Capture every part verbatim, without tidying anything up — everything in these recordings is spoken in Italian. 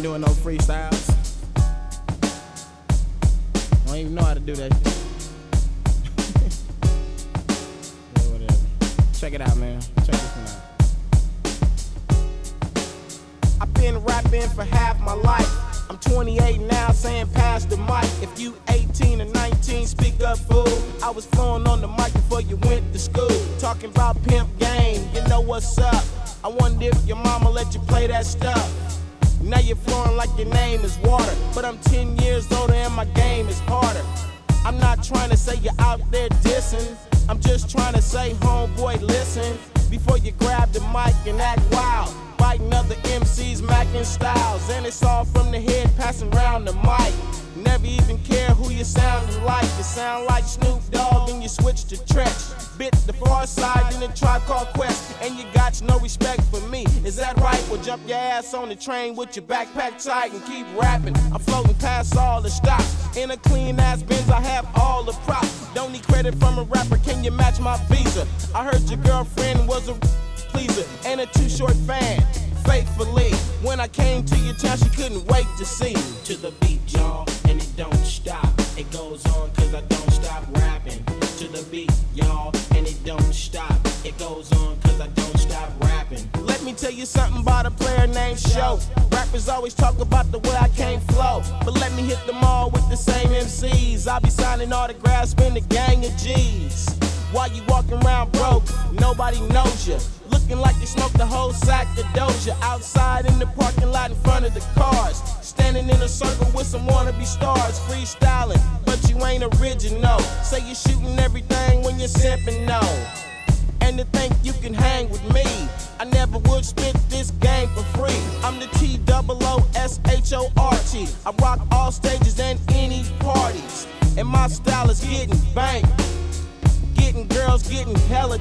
ain't doing no freestyles. Don't even know how to do that shit. Yeah, whatever. Check it out, man. Check this one out. I've been rapping for half my life. I'm twenty-eight now, saying pass the mic. If you eighteen or nineteen, speak up, fool. I was flowing on the mic before you went to school. Talking about pimp game, you know what's up. I wonder if your mama let you play that stuff. Now you're flowing like your name is water. But I'm ten years older and my game is harder. I'm not trying to say you're out there dissing. I'm just trying to say, homeboy, listen. Before you grab the mic and act wild. Biting other M Cs, macking styles. And it's all from the head, passing around the mic. Never even care who you sounding like. You sound like Snoop Dogg and you switch to Tretch. Bit the far side in the Tribe Called Quest. And you got no respect for me. Is that right? Well, jump your ass on the train with your backpack tight and keep rapping. I'm floating past all the stops. In a clean ass Benz, I have all the props. Don't need credit from a rapper, can you match my visa? I heard your girlfriend was a pleaser and a Too Short fan. Faithfully, when I came to your town, she couldn't wait to see me. To the beat, y'all, and it don't stop. It goes on cause I don't stop rapping. To the beat, y'all, and it don't stop. It goes on cause I don't stop rapping. Let me tell you something about a player named Show. Rappers always talk about the way I can't flow, but let me hit them all with the same M Cs. I'll be signing autographs, spend a gang of G's. While you walking around broke, nobody knows you. Looking like you smoked the whole sack of Doja. Outside in the parking lot in front of the cars. Standing in a circle with some wannabe stars. Freestyling, but you ain't original. Say you're shooting everything when you're simping, no. And to think you can hang with me, I never would spit this game for free. I'm the T O O S H O R T. I rock all stages and any parties. And my style is getting banked. Getting girls, getting hella.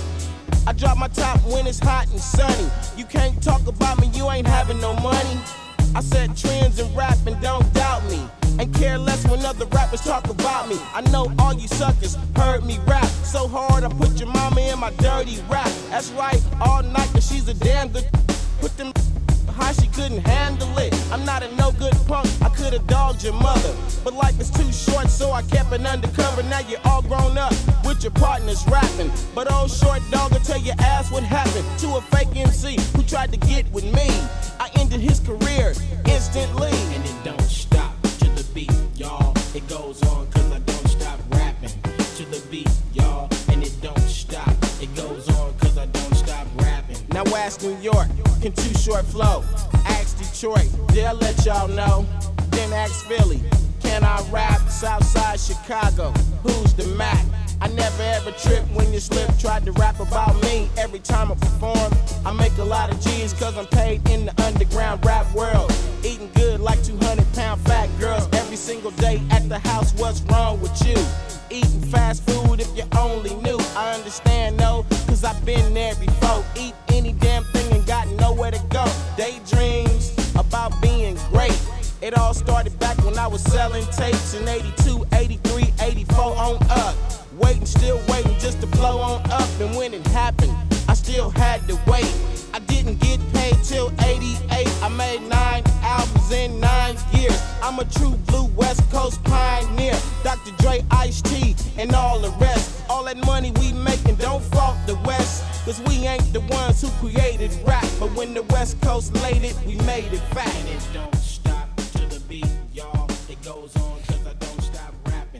I drop my top when it's hot and sunny. You can't talk about me, you ain't having no money. I set trends in rap and don't doubt me. And care less when other rappers talk about me. I know all you suckers heard me rap so hard I put your mama in my dirty rap. That's right, all night cause she's a damn good. Put them how she couldn't handle it. I'm not a no good punk, I could've dogged your mother. But life is too short, so I kept it undercover. Now you're all grown up with your partners rapping. But old short dog will tell your ass what happened to a fake M C who tried to get with me. I ended his career instantly. And it don't stop to the beat, y'all. It goes on cause I don't stop rapping. To the beat, y'all. And it don't stop. It goes on cause I don't stop rapping. Now ask New York, can Too Short flow? Ask Detroit, they'll let y'all know. Then ask Philly, can I rap? Southside Chicago, who's the Mac? I never ever trip when you slip, tried to rap about me. Every time I perform, I make a lot of G's cause I'm paid in the underground rap world. Eating good like two hundred pound fat girls every single day at the house, what's wrong with you? Eating fast food if you only knew. I understand though, cause I've been there before. Eat any damn thing and got nowhere to go. Daydreams about being great. It all started back when I was selling tapes in eighty-two, eighty-three, eighty-four on up. Waiting, still waiting just to blow on up. And when it happened, I still had to wait. I didn't get paid till eighty-eight. I made nine albums in nine years. I'm a true blue West Coast pioneer. Doctor Dre, Ice-T, and all the rest. All that money we making, don't fault the West. Cause we ain't the ones who created rap. But when the West Coast laid it, we made it fat. And it don't stop to the beat, y'all. It goes on cause I don't stop rapping.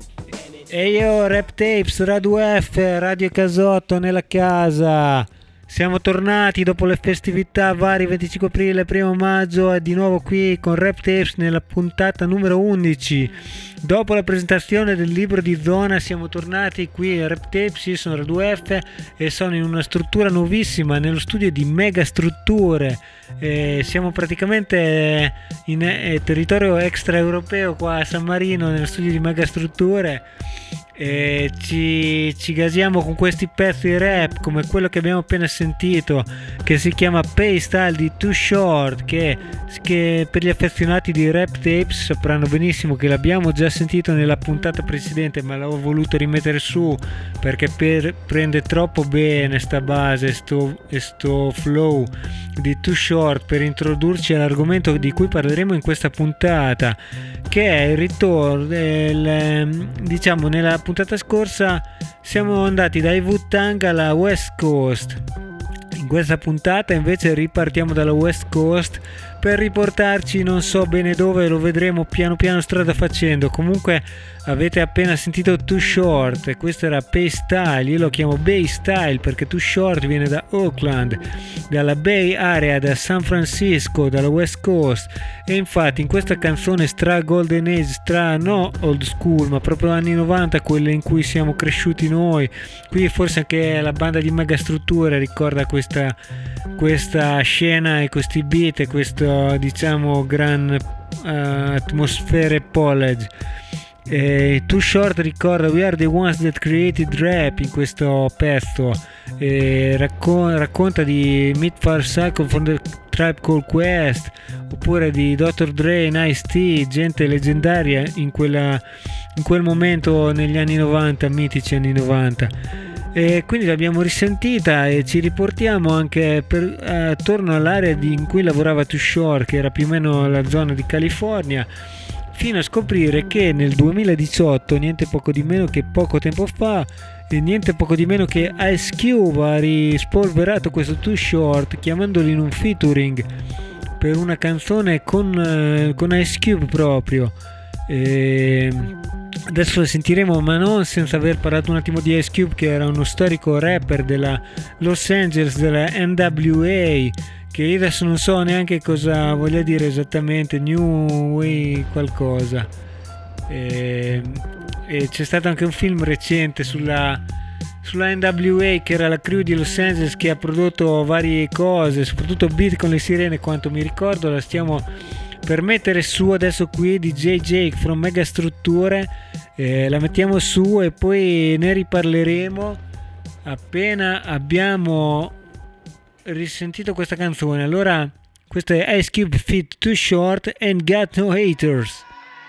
E io Rap Tapes, Radio F, Radio Casotto nella casa. Siamo tornati dopo le festività vari venticinque aprile, primo maggio e di nuovo qui con Rap Tapes nella puntata numero undici. Dopo la presentazione del libro di Zona siamo tornati qui a Rap Tapes, io sono Radio F e sono in una struttura nuovissima nello studio di Mega Strutture. Eh, siamo praticamente in eh, territorio extraeuropeo qua a San Marino nello studio di Mega Strutture e ci, ci gasiamo con questi pezzi rap come quello che abbiamo appena sentito, che si chiama Pay Style di Too Short, che, che per gli affezionati di Rap Tapes sapranno benissimo che l'abbiamo già sentito nella puntata precedente, ma l'avevo voluto rimettere su perché per, prende troppo bene sta base sto, e sto flow di Too Short per introdurci all'argomento di cui parleremo in questa puntata, che è il ritorno del, diciamo nella puntata scorsa siamo andati dai Wu-Tang alla West Coast. In questa puntata invece ripartiamo dalla West Coast per riportarci non so bene dove, lo vedremo piano piano strada facendo. Comunque avete appena sentito Too Short e questo era Pay Style. Io lo chiamo Bay Style perché Too Short viene da Oakland, dalla Bay Area, da San Francisco, dalla West Coast, e infatti in questa canzone stra Golden Age, stra no old school ma proprio anni novanta, quelle in cui siamo cresciuti noi, qui forse anche la banda di Megastrutture ricorda questa, questa scena e questi beat e questo diciamo gran uh, atmosfere college. Eh, Too Short ricorda We Are The Ones That Created Rap in questo pezzo, eh, raccon- racconta di Meet Far Cycle from the Tribe Called Quest, oppure di doctor Dre, Ice-T, gente leggendaria in, quella, in quel momento negli anni novanta, mitici anni novanta. E quindi l'abbiamo risentita e ci riportiamo anche per, attorno all'area di, in cui lavorava Too Short, che era più o meno la zona di California, fino a scoprire che nel duemiladiciotto, niente poco di meno che poco tempo fa, e niente poco di meno che Ice Cube ha rispolverato questo Too Short chiamandolo in un featuring per una canzone con, con Ice Cube proprio. E adesso lo sentiremo, ma non senza aver parlato un attimo di Ice Cube, che era uno storico rapper della Los Angeles, della N W A, che io adesso non so neanche cosa voglia dire esattamente, New Way qualcosa. E, e c'è stato anche un film recente sulla, sulla N W A, che era la crew di Los Angeles, che ha prodotto varie cose, soprattutto beat con le sirene, quanto mi ricordo. La stiamo per mettere su adesso qui di J J from Megastrutture, eh, la mettiamo su e poi ne riparleremo appena abbiamo risentito questa canzone. Allora, questo è Ice Cube feat Too Short and Got No Haters.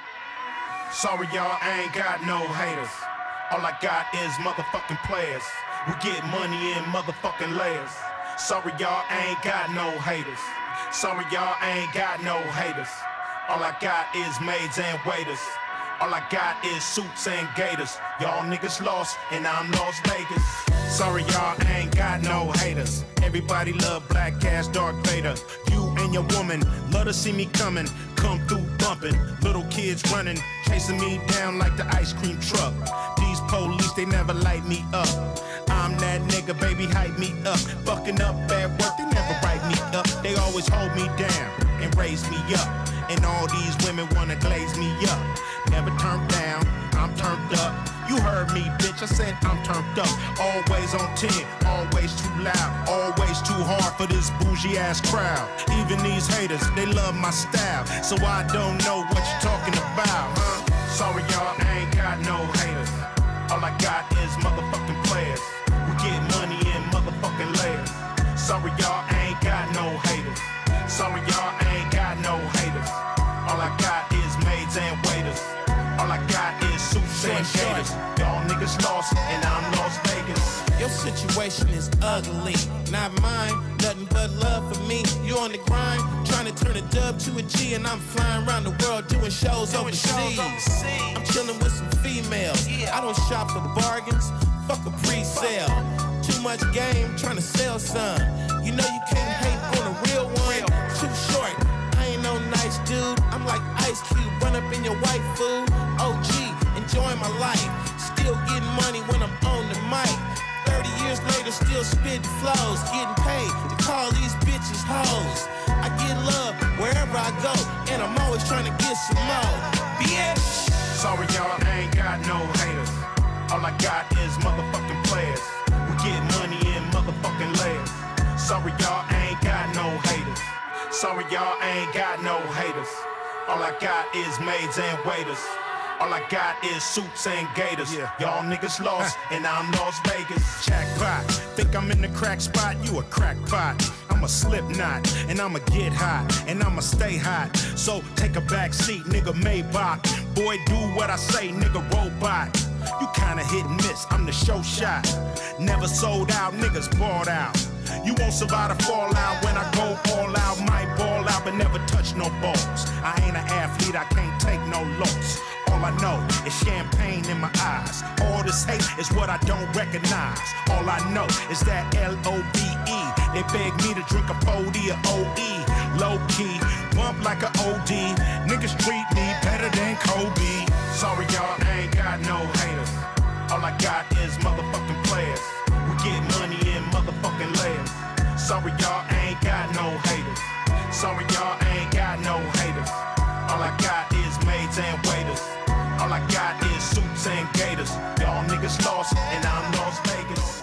Sorry y'all, I ain't got no haters. All I got is motherfucking players who get money in motherfucking layers. Sorry y'all, I ain't got no haters. Sorry y'all, I ain't got no haters. All I got is maids and waiters. All I got is suits and gators. Y'all niggas lost and I'm Las Vegas. Sorry y'all, I ain't got no haters. Everybody love Black Cash, Dark Vader. You and your woman love to see me coming. Come through bumping, little kids running, chasing me down like the ice cream truck. These police, they never light me up. I'm that nigga, baby, hype me up. Fucking up at work, they never write me up. They always hold me down and raise me up. And all these women wanna glaze me up. Never turned down, I'm turned up. You heard me, bitch, I said I'm turned up. Always on ten, always too loud. Always too hard for this bougie ass crowd. Even these haters, they love my style. So I don't know what you're talking about, huh? Sorry y'all, I ain't got no haters. All I got is motherfucking players who get money in motherfucking layers. Sorry y'all, I ain't got no haters. Sorry y'all, I ain't got no haters. All I got is maids and waiters. All I got is suits and gators. Y'all niggas lost and I'm Las Vegas. Your situation is ugly, not mine. Nothing but love for me. You on the grind, trying to turn a dub to a G, and I'm flying around the world doing shows doing overseas. Shows overseas. I'm chilling with some females. Yeah. I don't shop for bargains. Fuck a pre-sale. Too much game, trying to sell some. You know you can't hate on a real one. Real. Too short. I ain't no nice dude. I'm like Ice Cube, run up in your white food. O G, enjoying my life. Still getting money when I'm on the mic. thirty years later, still spitting flows. Getting paid to call these bitches hoes. I get love wherever I go, and I'm always trying to get some more. Bitch! Sorry y'all, I ain't got no haters. All I got is motherfucking players who get money in motherfucking layers. Sorry y'all, I ain't got no haters. Sorry y'all, I ain't got no haters. All I got is maids and waiters. All I got is suits and gators. Yeah. Y'all niggas lost, and now I'm Las Vegas. Jackpot, think I'm in the crack spot? You a crackpot. I'm a Slipknot, and I'ma get hot, and I'ma stay hot. So take a back seat, nigga Maybach. Boy, do what I say, nigga robot. You kinda hit and miss, I'm the show shot. Never sold out, niggas bought out. You won't survive the fallout when I go all out. Might ball out, but never touch no balls. I ain't an athlete, I can't take no loss. All I know is champagne in my eyes. All this hate is what I don't recognize. All I know is that L O V E. They beg me to drink a forty or O E. Low key, bump like a O D. Niggas treat me better than Kobe. Sorry y'all, I ain't got no haters. All I got is motherfucking players. We get money in motherfucking layers. Sorry y'all, I ain't got no haters. Sorry y'all, I ain't got no haters. All I got is maids and waiters. All I got is suits and gators. Y'all niggas lost, and I'm Las Vegas.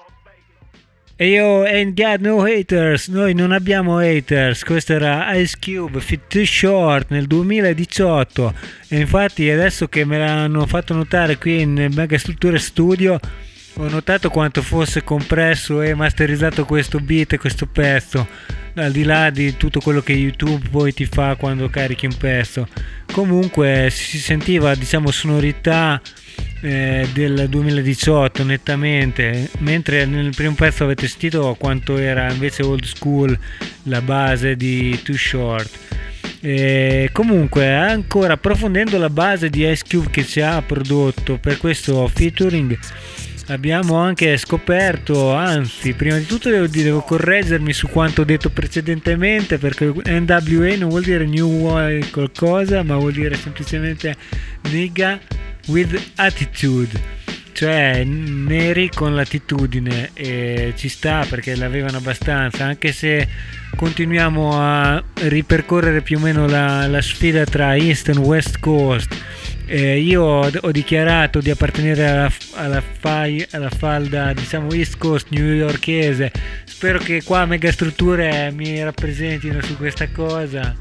E io ain't got no haters, noi non abbiamo haters. Questo era Ice Cube Fit Too Short nel duemiladiciotto, e infatti adesso che me l'hanno fatto notare qui in Megastrutture Studio ho notato quanto fosse compresso e masterizzato questo beat e questo pezzo, al di là di tutto quello che YouTube poi ti fa quando carichi un pezzo. Comunque si sentiva, diciamo, sonorità eh, del duemiladiciotto nettamente, mentre nel primo pezzo avete sentito quanto era invece old school la base di Too Short. E comunque, ancora approfondendo la base di Ice Cube che ci ha prodotto per questo featuring, abbiamo anche scoperto, anzi prima di tutto devo, devo correggermi su quanto detto precedentemente, perché N W A non vuol dire new qualcosa, ma vuol dire semplicemente nigga with attitude, cioè neri con l'attitudine, e ci sta perché l'avevano abbastanza, anche se continuiamo a ripercorrere più o meno la, la sfida tra East e West Coast. Eh, io ho, ho dichiarato di appartenere alla, alla, fai, alla falda, diciamo, East Coast newyorkese. Spero che qua Megastrutture mi rappresentino su questa cosa,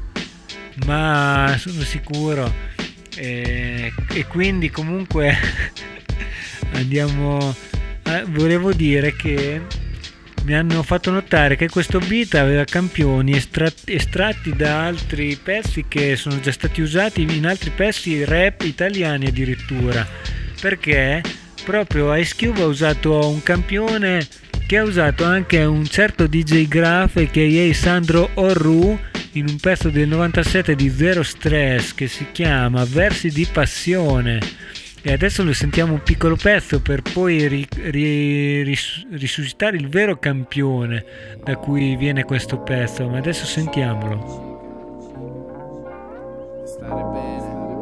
ma sono sicuro. Eh, e quindi comunque andiamo a, volevo dire che mi hanno fatto notare che questo beat aveva campioni estratti, estratti da altri pezzi che sono già stati usati in altri pezzi rap italiani addirittura, perché proprio Ice Cube ha usato un campione che ha usato anche un certo D J Graf a k a. Sandro Orru in un pezzo del novantasette di Zero Stress che si chiama Versi di Passione. E adesso lo sentiamo un piccolo pezzo per poi ri, ri, ris, risuscitare il vero campione da cui viene questo pezzo, ma adesso sentiamolo. Stare bene.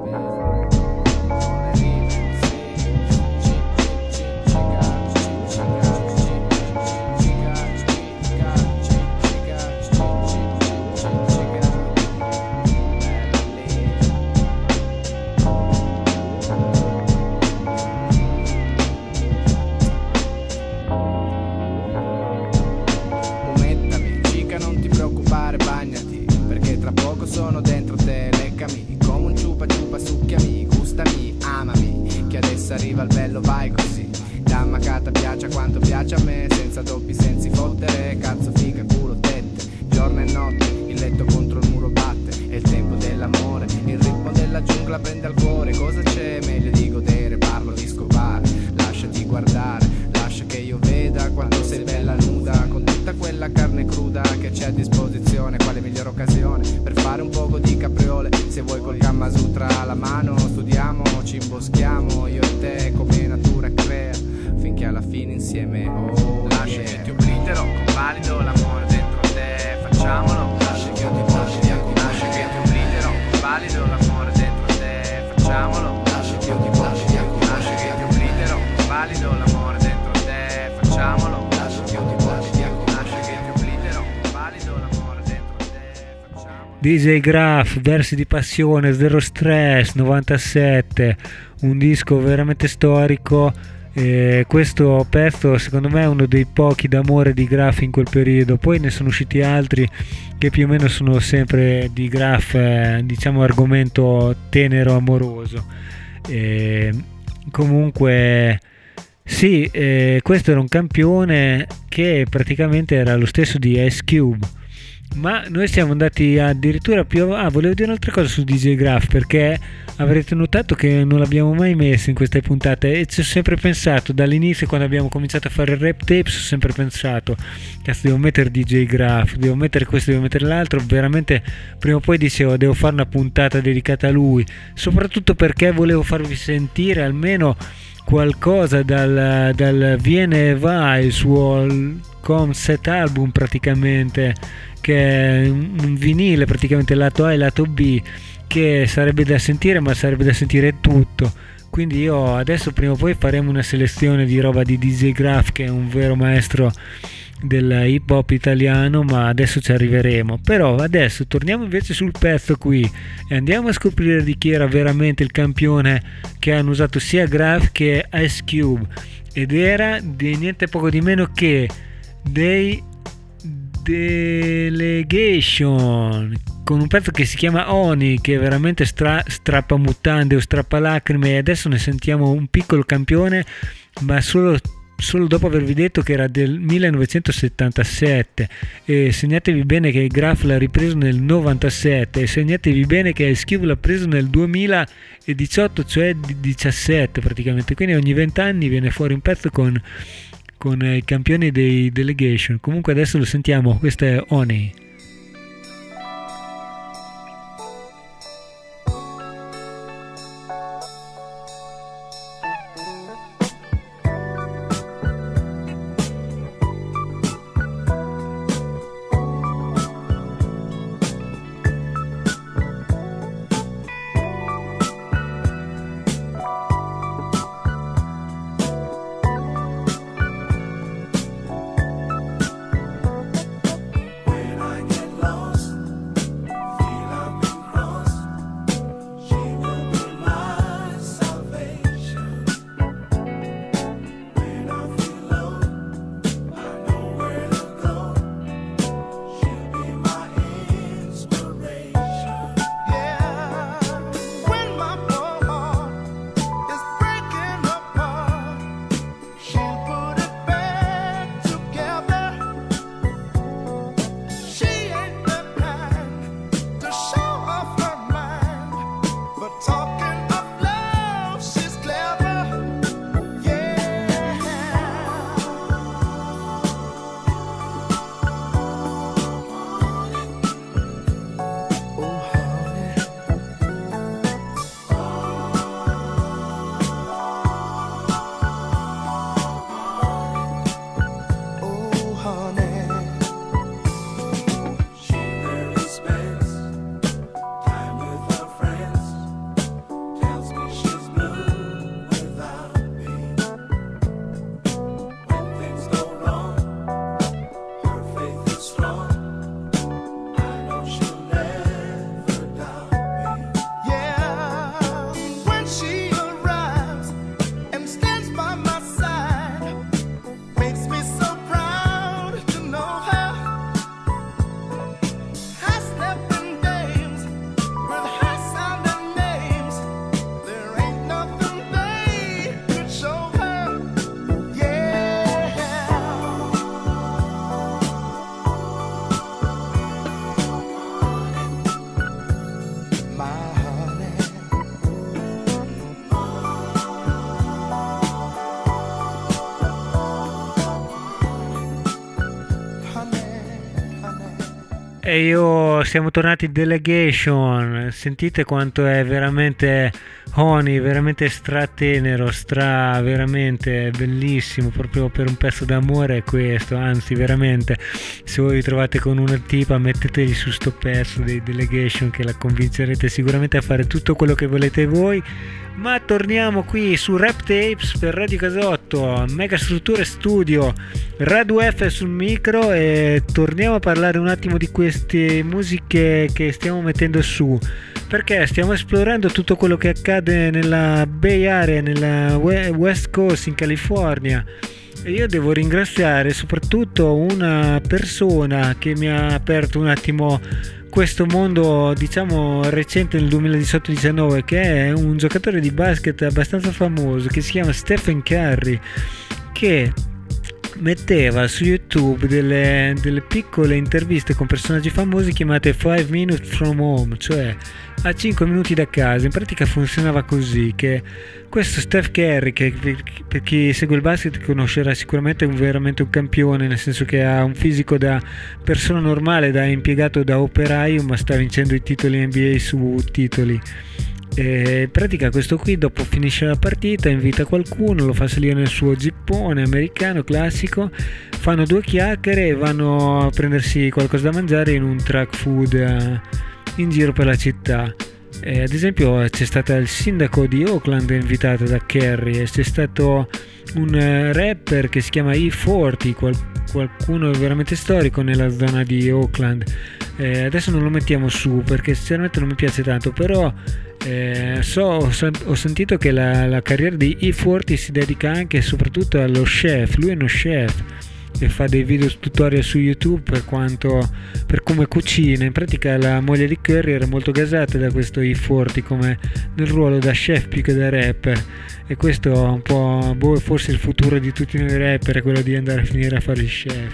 Sono dentro te, leccami come un ciupa ciupa, succhiami, gustami, amami, che adesso arriva il bello, vai così. Dammacata piace quanto piace a me, senza doppi sensi fottere, cazzo figa, culo, tette, giorno e notte, il letto contro il muro batte, è il tempo dell'amore, il ritmo della giungla prende al cuore, cosa c'è? Meglio di godere, parlo di scopare, lasciati guardare, lascia che io veda quando sei bella nuda, con tutta quella carne cruda che c'è a disposizione, quale migliore occasione per fare un poco di capriole, se vuoi col Kama Sutra alla mano, studiamo, ci imboschiamo, io e te come natura crea, finché alla fine insieme, oh, lascia che ti oblitero, convalido l'amore dentro te, facciamolo, lascia che io ti voglio, lascia che ti oblitero, convalido l'amore dentro te, facciamolo, lascia che io ti voglio, lascia che ti oblitero, convalido l'amore dentro te, facciamolo, lascia che io ti voglio, lascia che ti oblitero, convalido l'amore dentro te, facciamolo. D J Graf, Versi di Passione, Zero Stress, novantasette, un disco veramente storico. E questo pezzo secondo me è uno dei pochi d'amore di Graf in quel periodo, poi ne sono usciti altri che più o meno sono sempre di Graf, eh, diciamo argomento tenero amoroso. E comunque sì, eh, questo era un campione che praticamente era lo stesso di Ice Cube, ma noi siamo andati addirittura più avanti. Ah, volevo dire un'altra cosa su D J Graf, perché avrete notato che non l'abbiamo mai messo in queste puntate e ci ho sempre pensato dall'inizio, quando abbiamo cominciato a fare il rap tapes, ho sempre pensato, cazzo, devo mettere D J Graf, devo mettere questo, devo mettere l'altro. Veramente prima o poi dicevo devo fare una puntata dedicata a lui, soprattutto perché volevo farvi sentire almeno qualcosa dal, dal Viene e Va, il suo concept album praticamente, che è un vinile praticamente lato A e lato B, che sarebbe da sentire, ma sarebbe da sentire tutto. Quindi io adesso prima o poi faremo una selezione di roba di D J Graf, che è un vero maestro del hip hop italiano, ma adesso ci arriveremo. Però adesso torniamo invece sul pezzo qui e andiamo a scoprire di chi era veramente il campione che hanno usato sia Graf che Ice Cube, ed era di niente poco di meno che dei Delegation, con un pezzo che si chiama Oni, che veramente stra- strappa mutande o strappa lacrime. E adesso ne sentiamo un piccolo campione, ma solo solo dopo avervi detto che era del millenovecentosettantasette, e segnatevi bene che Graf l'ha ripreso nel novantasette, e segnatevi bene che Ice Cube l'ha preso nel duemiladiciotto, cioè diciassette praticamente. Quindi ogni venti anni viene fuori un pezzo con con i campioni dei Delegation. Comunque adesso lo sentiamo, questo è Oni. E io siamo tornati in Delegation. Sentite quanto è veramente Honey, veramente stratenero, stra veramente bellissimo, proprio per un pezzo d'amore è questo. Anzi, veramente, se voi vi trovate con una tipa, mettetegli su sto pezzo dei Delegation, che la convincerete sicuramente a fare tutto quello che volete voi. Ma torniamo qui su Rap Tapes per Radio Casotto, Mega Strutture Studio, Radio F sul micro, e torniamo a parlare un attimo di queste musiche che stiamo mettendo su, perché stiamo esplorando tutto quello che accade nella Bay Area, nella West Coast in California. E io devo ringraziare soprattutto una persona che mi ha aperto un attimo questo mondo, diciamo, recente nel duemiladiciotto diciannove, che è un giocatore di basket abbastanza famoso che si chiama Stephen Curry, che metteva su YouTube delle, delle piccole interviste con personaggi famosi chiamate five minutes from home, cioè a cinque minuti da casa. In pratica funzionava così, che questo Steph Curry, che per chi segue il basket conoscerà sicuramente, è un, veramente un campione, nel senso che ha un fisico da persona normale, da impiegato, da operaio, ma sta vincendo i titoli N B A su titoli. E in pratica questo qui, dopo finisce la partita, invita qualcuno, lo fa salire nel suo jeepone americano classico, fanno due chiacchiere e vanno a prendersi qualcosa da mangiare in un truck food eh, in giro per la città. Eh, ad esempio c'è stato il sindaco di Oakland invitato da Curry, e c'è stato un uh, rapper che si chiama E quaranta, qual- qualcuno veramente storico nella zona di Oakland. Eh, adesso non lo mettiamo su perché sinceramente non mi piace tanto, però eh, so, ho, ho sentito che la, la carriera di E quaranta si dedica anche e soprattutto allo chef. Lui è uno chef e fa dei video tutorial su YouTube per quanto per come cucina. In pratica la moglie di Curry era molto gasata da questo E quaranta, come nel ruolo da chef più che da rapper, e questo è un po' boh, forse il futuro di tutti noi rapper è quello di andare a finire a fare il chef.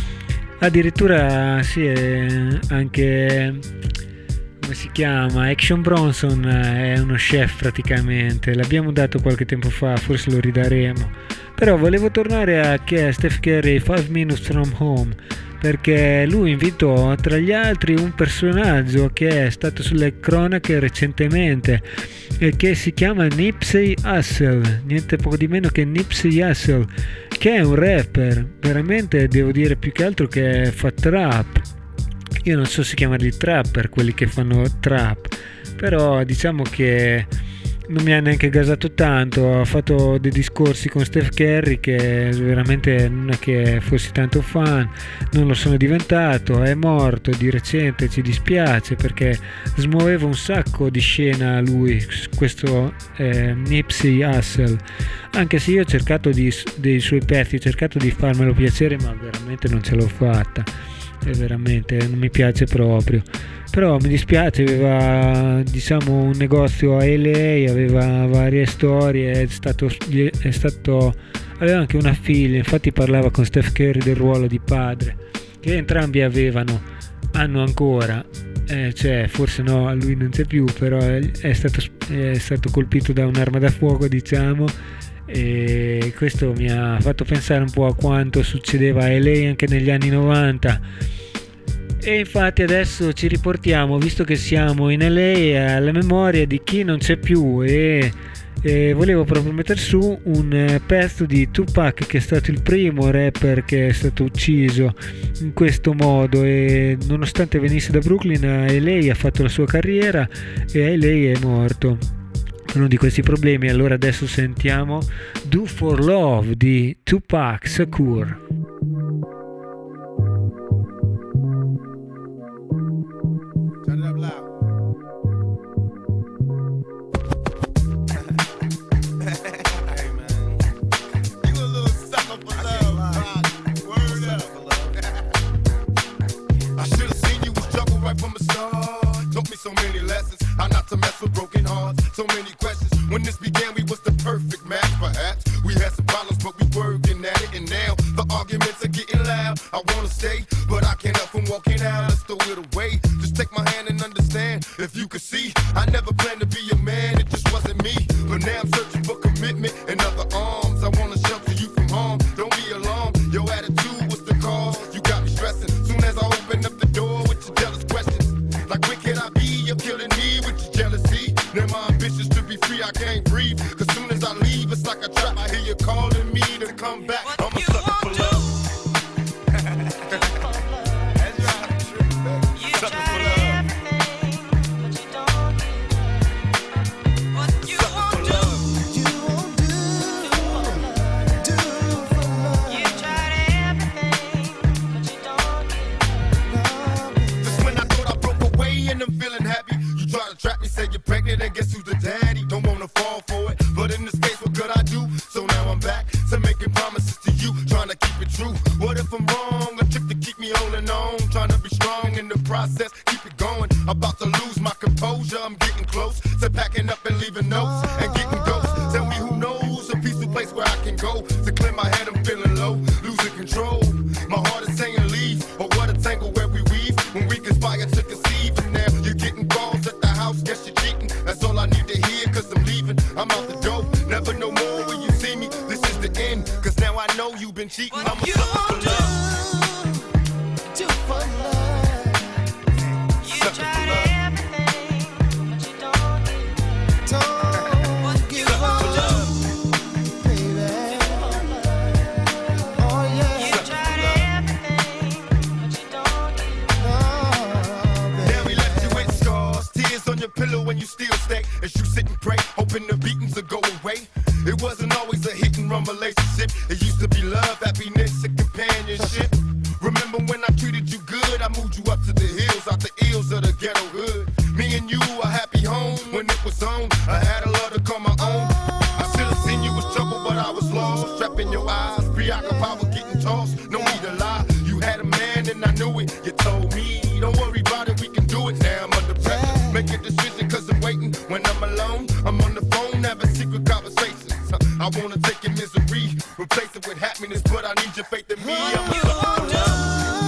Addirittura sì, anche come si chiama, Action Bronson è uno chef praticamente, l'abbiamo dato qualche tempo fa, forse lo ridaremo. Però volevo tornare a Steph Curry five minutes from home, perché lui invitò tra gli altri un personaggio che è stato sulle cronache recentemente e che si chiama Nipsey Hussle, niente poco di meno che Nipsey Hussle, che è un rapper, veramente devo dire più che altro che fa trap. Io non so se chiamarli trapper quelli che fanno trap, però diciamo che non mi ha neanche gasato tanto. Ha fatto dei discorsi con Steph Curry che veramente non è che fossi tanto fan, non lo sono diventato. È morto di recente, ci dispiace, perché smuoveva un sacco di scena lui, questo eh, Nipsey Hussle, anche se io ho cercato di, dei suoi pezzi, ho cercato di farmelo piacere, ma veramente non ce l'ho fatta, e veramente non mi piace proprio. Però mi dispiace, aveva diciamo un negozio a L A, aveva varie storie, è stato, è stato aveva anche una figlia, infatti parlava con Steph Curry del ruolo di padre, che entrambi avevano, hanno ancora, eh, cioè forse no, lui non c'è più, però è stato, è stato colpito da un'arma da fuoco, diciamo, e questo mi ha fatto pensare un po' a quanto succedeva a L A anche negli anni novanta. E infatti adesso ci riportiamo, visto che siamo in L A, alla memoria di chi non c'è più, e, e volevo proprio mettere su un pezzo di Tupac, che è stato il primo rapper che è stato ucciso in questo modo, e nonostante venisse da Brooklyn, a L A ha fatto la sua carriera e a L A è morto per uno di questi problemi. Allora adesso sentiamo Do For Love di Tupac Shakur. So many lessons, how not to mess with broken hearts. So many questions. When this began, we was the perfect match. Perhaps we had some problems, but we working at it. And now the arguments are getting loud. I wanna stay, but I can't help from walking out. Let's throw it away. Just take my hand and understand. If you could see, I never planned to be a man. It just wasn't me. But now I'm searching for commitment and other arms. I wanna shelter you from harm. Don't be alarmed. Your attitude was the cause. You got me stressing. Soon as I open up the door with your jealous questions, like when can I be? You're killing me with your jealousy. Now my ambitions to be free, I can't breathe. Cause soon as I leave, it's like a trap. I hear you calling me to come back. I'm a sucker for love. That's right. Sucker for love. Sucker for love. You won't do, do for love. You tried everything, but you don't get. Just when I thought I broke away and I'm feeling happy, you try to trap me, say you're pregnant, and guess who's the daddy? Don't wanna fall for it, but in this case, what could I do? So now I'm back to making promises to you, trying to keep it true. What if I'm wrong? A trick to keep me holding on, trying to be strong in the process, keep it going. about to lose my composure. I'm getting close to packing up and leaving notes and getting ghosts. Tell me who knows a peaceful place where I can go to clear my head. I'm feeling low, losing control. My heart is saying leave, or what a tangle where we weave when we conspire to conceive. And now you're getting calls at the house, guess you're cheating. That's all I need to hear, cause I'm leaving. I'm out the door, never no more when you see me. This is the end, cause now I know you've been cheating. I'm a sucker for love. Do for love. You tried everything, but you don't get Don't give up, baby. Oh yeah. You tried everything, but you don't get no, baby. Now we left you with scars, tears on your pillow when you still stay. As you sit and pray, hoping the beatings will go away. It wasn't always a hit and run relationship. It used to be love, happiness, and companionship. Remember when I treated you good? I moved you up to the hills, out the ills of the ghetto hood. Me and you, a happy home when it was on. I had a love to call my own. I should have seen you was trouble, but I was lost. Trapped in your eyes, preoccupied with getting tossed. No need to lie, you had a man and I knew it. You told me, don't worry about it, we can do it. Now I'm under pressure, make a decision cause I'm waiting. When I'm alone, I'm on the phone, having secret conversations. I wanna take your misery, replace it with happiness, but I need your faith in me. I'm a sucker for love.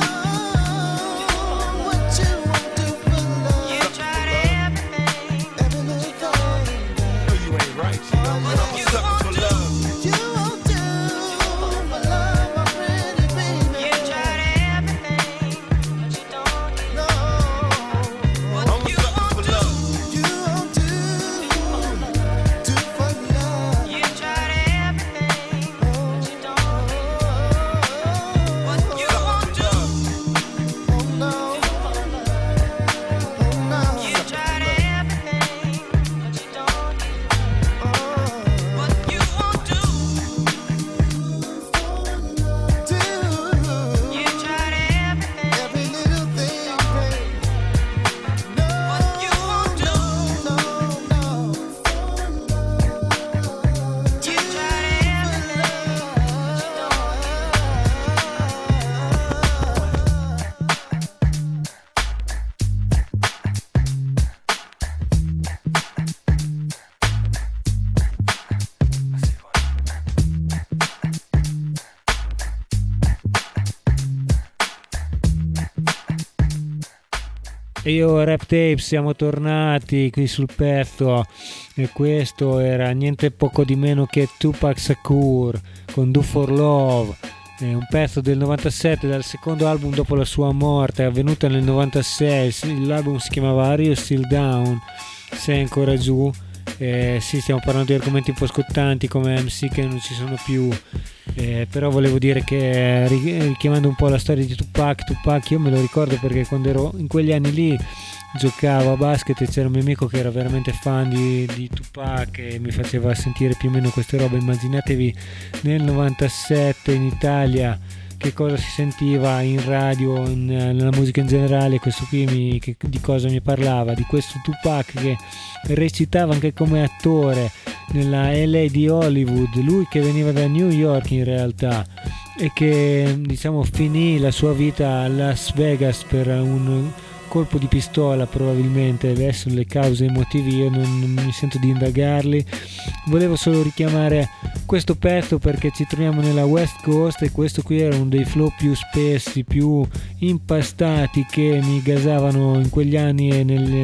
What you won't do for love. You tried everything, every little thing. No, you ain't right, you know, but I'm a sucker for love. You won't do for love, my pretty baby. You tried everything, but you don't get no. I'm a sucker for love. You won't do do for love. You tried everything, but you don't get what you won't do. Oh no, oh no. You tried everything, but you don't get what you won't do. Do you tried everything, every little thing, babe. No, what you won't do. No, no. You tried everything, but you don't. E io Rap Tape, siamo tornati qui sul pezzo e questo era niente poco di meno che Tupac Shakur con Do For Love, è un pezzo del novantasette, dal secondo album dopo la sua morte, avvenuta nel novantasei. L'album si chiamava Are You Still Down? Sei ancora giù? Eh, sì, stiamo parlando di argomenti un po' scottanti come M C che non ci sono più, eh, però volevo dire che richiamando un po' la storia di Tupac, Tupac io me lo ricordo perché quando ero in quegli anni lì giocavo a basket e c'era un mio amico che era veramente fan di, di Tupac e mi faceva sentire più o meno queste robe. Immaginatevi nel novantasette in Italia che cosa si sentiva in radio, in, nella musica in generale. Questo qui mi, che, di cosa mi parlava? Di questo Tupac che recitava anche come attore nella L A di Hollywood, lui che veniva da New York in realtà e che diciamo finì la sua vita a Las Vegas per un colpo di pistola probabilmente. Adesso le cause e i motivi io non, non mi sento di indagarli, volevo solo richiamare questo pezzo perché ci troviamo nella West Coast e questo qui era uno dei flow più spessi, più impastati che mi gasavano in quegli anni e, nelle,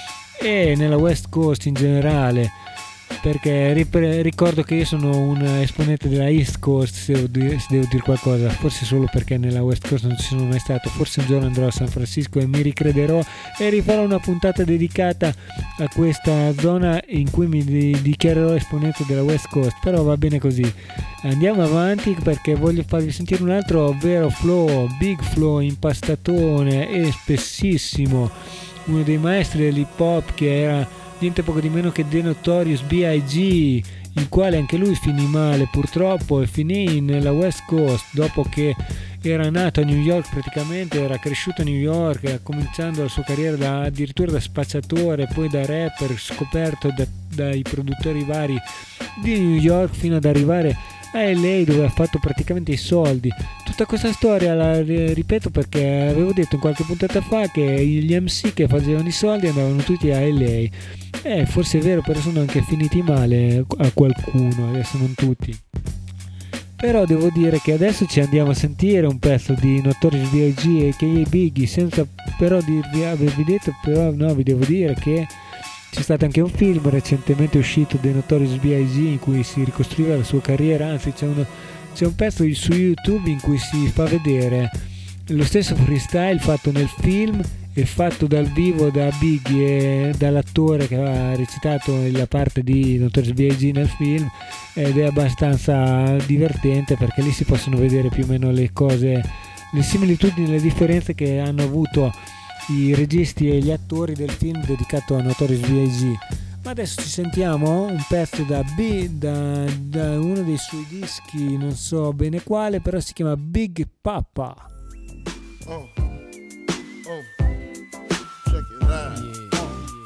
e nella West Coast in generale, perché ripre- ricordo che io sono un esponente della East Coast, se devo, dire, se devo dire qualcosa, forse solo perché nella West Coast non ci sono mai stato. Forse un giorno andrò a San Francisco e mi ricrederò e rifarò una puntata dedicata a questa zona in cui mi di- dichiarerò esponente della West Coast, però va bene così. Andiamo avanti perché voglio farvi sentire un altro vero flow, big flow, impastatone e spessissimo, uno dei maestri dell'hip hop che era niente poco di meno che The Notorious B I G, il quale anche lui finì male purtroppo e finì nella West Coast dopo che era nato a New York, praticamente era cresciuto a New York, cominciando la sua carriera da, addirittura da spacciatore, poi da rapper, scoperto da, dai produttori vari di New York fino ad arrivare a L A dove ha fatto praticamente i soldi. Tutta questa storia la ripeto perché avevo detto in qualche puntata fa che gli M C che facevano i soldi andavano tutti a L A. Eh, forse è vero, però sono anche finiti male a qualcuno, adesso non tutti. Però devo dire che adesso ci andiamo a sentire un pezzo di Notorious B I G e K A Biggie, senza però dirvi, avervi detto, però no, vi devo dire che c'è stato anche un film recentemente uscito dei Notorious B I G in cui si ricostruiva la sua carriera, anzi c'è, uno, c'è un pezzo su YouTube in cui si fa vedere lo stesso freestyle fatto nel film e fatto dal vivo da Biggie e dall'attore che aveva recitato la parte di Notorious B I G nel film, ed è abbastanza divertente perché lì si possono vedere più o meno le cose, le similitudini e le differenze che hanno avuto i registi e gli attori del film dedicato a Notorious B I G. Ma adesso ci sentiamo un pezzo da, B, da, da uno dei suoi dischi, non so bene quale, però si chiama Big Papa. Oh, oh, check it out. Yeah.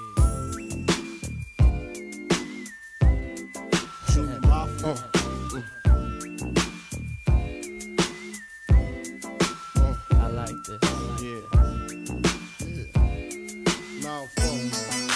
Shoot my phone. I like this. Yeah. Yeah. Now phone.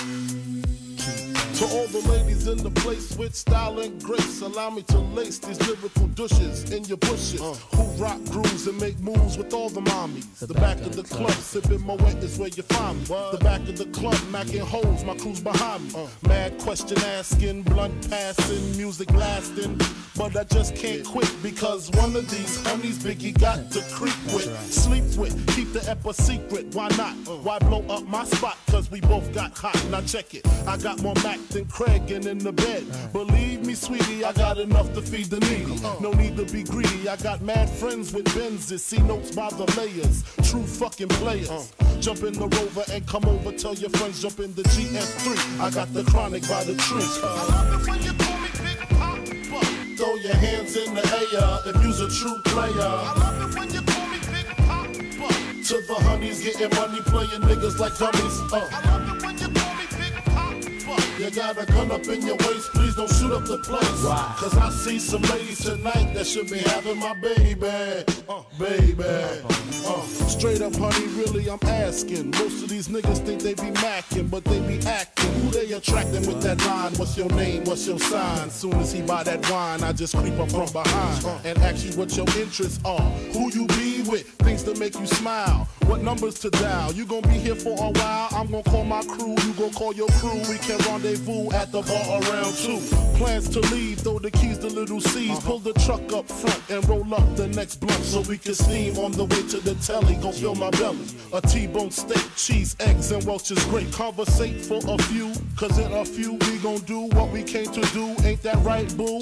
To all the ladies in the place with style and grace, allow me to lace these lyrical douches in your bushes. Uh. Who rock grooves and make moves with all the mommies. The, the back, back of the club, club sipping Moet is where you find me. What? The back of the club, macking holes, my crew's behind me. Uh. Mad question asking, blunt passing, music lasting. But I just can't quit because one of these honeys Biggie got to creep with, right. Sleep with, keep the ep a secret. Why not? Uh. Why blow up my spot? Cause we both got hot. Now check it. I got more Mac than Craig and in the bed. Right. Believe me, sweetie, I got enough to feed the needy. Uh. No need to be greedy. I got mad friends with Benzes. See notes by the layers. True fucking players. Uh. Jump in the Rover and come over. Tell your friends jump in the G F three. I got the chronic by the tree. Uh. I love it when you call me Big Papa. Throw your hands in the air if you's a true player. I love it when you call me Big Papa. To the honeys getting money, playing niggas like dummies. Uh. I love it when you call me Big Papa. You got a gun up in your waist, please don't shoot up the place. Wow. Cause I see some ladies tonight that should be having my baby. Uh, baby. Uh, straight up, honey, really, I'm asking. Most of these niggas think they be macking, but they be acting. Who they attracting with that line? What's your name? What's your sign? Soon as he buy that wine, I just creep up from behind and ask you what your interests are. Who you be with? Things to make you smile. What numbers to dial? You gon' be here for a while. I'm gon' call my crew. You gon' call your crew. We can rendezvous at the bar around two. Plans to leave, throw the keys to little C's. Uh-huh. Pull the truck up front and roll up the next blunt so we can steam on the way to the telly. Gon' fill my belly. A T-bone steak, cheese, eggs, and Welch's grape. Conversate for a few, cause in a few we gon' do what we came to do. Ain't that right, boo?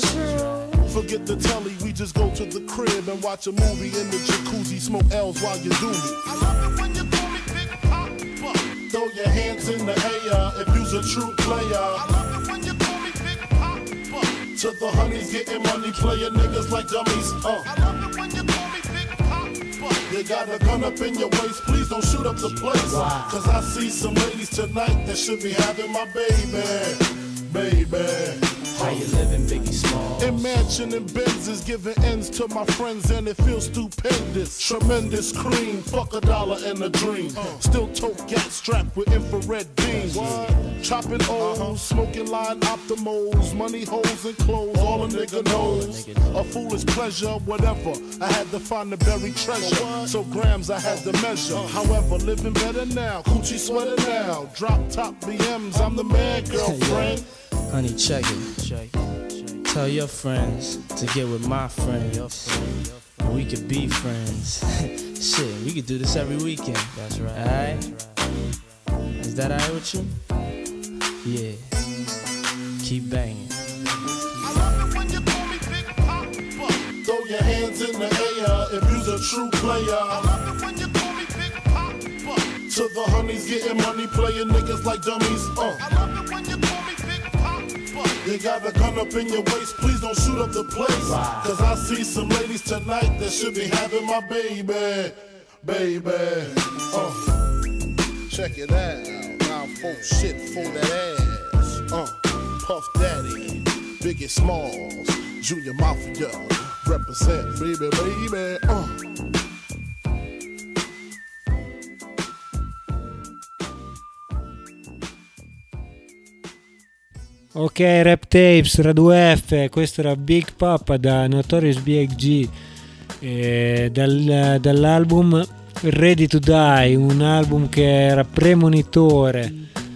Forget the telly, we just go to the crib and watch a movie in the jacuzzi. Smoke L's while you do me. I love it when you call me Big Papa. Throw your hands in the air if you's a true player. I love it when you call me Big Papa. To the honeys getting money, playing niggas like dummies. Uh. I love it when you call me Big Papa. You got a gun up in your waist, please don't shoot up the place. Wow. Cause I see some ladies tonight that should be having my baby. Baby. How you living, Biggie Smalls? In mansion and Benzes, giving ends to my friends and it feels stupendous. Tremendous cream, fuck a dollar and a dream. Uh. Still tote gat strapped with infrared beams. What? Chopping O's, uh-huh. Smoking line optimals, money holes and clothes, all a nigga knows. A foolish pleasure, whatever. I had to find the buried treasure, so grams I had to measure. Uh. However, living better now, coochie sweater now. Drop top B Ms, I'm the man, girlfriend. Honey, check it. check it. Tell your friends to get with my friends. And we could be friends. Shit, we could do this every weekend. That's right. Alright? Is that alright with you? Yeah. Keep banging. I love it when you call me Big Papa. Throw your hands in the air if you's a true player. I love it when you call me Big Papa. To the honeys getting money, playing niggas like dummies. Uh. I love it when you call me Big Papa. You got a gun up in your waist, please don't shoot up the place. Wow. Cause I see some ladies tonight that should be having my baby. Baby. Uh. Check it out. Now folk shit for that ass. Uh. Puff Daddy, Biggie Smalls, Junior Mafia, represent, baby, baby. Uh. Ok, Rap Tapes, Radio F, questo era Big Papa da Notorious B I G, eh, dal, dall'album Ready to Die, un album che era premonitore.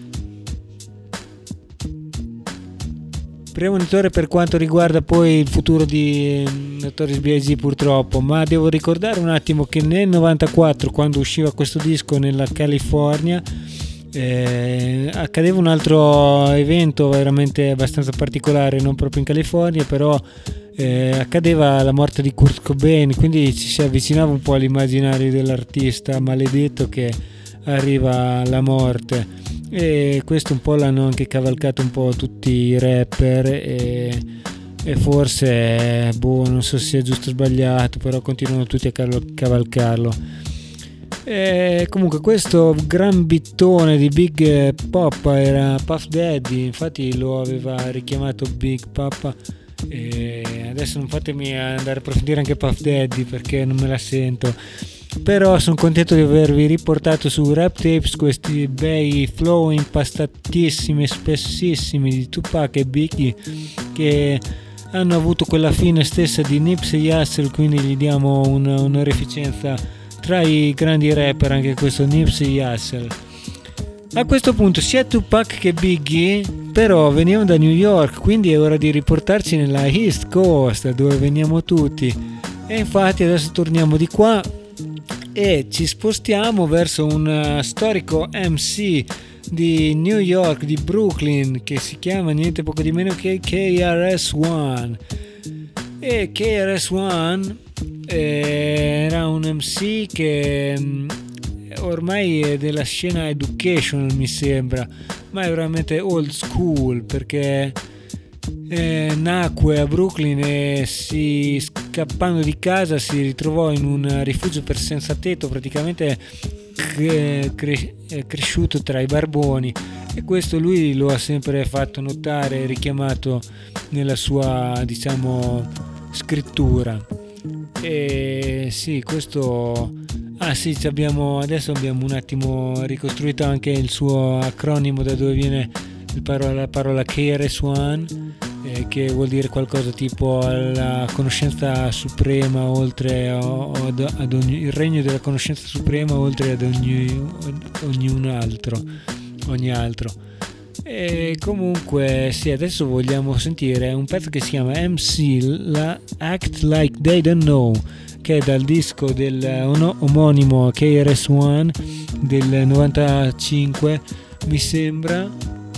Premonitore per quanto riguarda poi il futuro di Notorious B I G purtroppo, ma devo ricordare un attimo che nel novantaquattro, quando usciva questo disco nella California, Eh, accadeva un altro evento veramente abbastanza particolare, non proprio in California, però eh, accadeva la morte di Kurt Cobain, quindi ci si avvicinava un po' all'immaginario dell'artista maledetto che arriva alla morte, e questo un po' l'hanno anche cavalcato un po' tutti i rapper, e, e forse boh, non so se sia giusto o sbagliato, però continuano tutti a cavalcarlo. E comunque questo gran bittone di Big Papa era Puff Daddy, infatti lo aveva richiamato Big Papa, e adesso non fatemi andare a approfondire anche Puff Daddy perché non me la sento, però sono contento di avervi riportato su Rap Tapes questi bei flow impastatissimi, spessissimi di Tupac e Biggie, che hanno avuto quella fine stessa di Nipsey Hussle, quindi gli diamo una onorificenza tra i grandi rapper anche questo Nipsey Hussle. A questo punto sia Tupac che Biggie però venivano da New York, quindi è ora di riportarci nella East Coast dove veniamo tutti, e infatti adesso torniamo di qua e ci spostiamo verso un storico M C di New York, di Brooklyn, che si chiama niente poco di meno che K R S One. E K R S One era un M C che ormai è della scena educational, mi sembra, ma è veramente old school, perché eh, nacque a Brooklyn e si, scappando di casa, si ritrovò in un rifugio per senza tetto, praticamente cre- cre- cresciuto tra i barboni, e questo lui lo ha sempre fatto notare e richiamato nella sua, diciamo, scrittura. E sì, questo ah sì, abbiamo, adesso abbiamo un attimo ricostruito anche il suo acronimo, da dove viene il parola, la parola K R S One, eh, che vuol dire qualcosa tipo la conoscenza suprema oltre ad, ad ogni, il regno della conoscenza suprema oltre ad ogni, ogni altro ogni altro e comunque sì, adesso vogliamo sentire un pezzo che si chiama M C, la Act Like They Don't Know, che è dal disco del omonimo K R S One del novantacinque, mi sembra.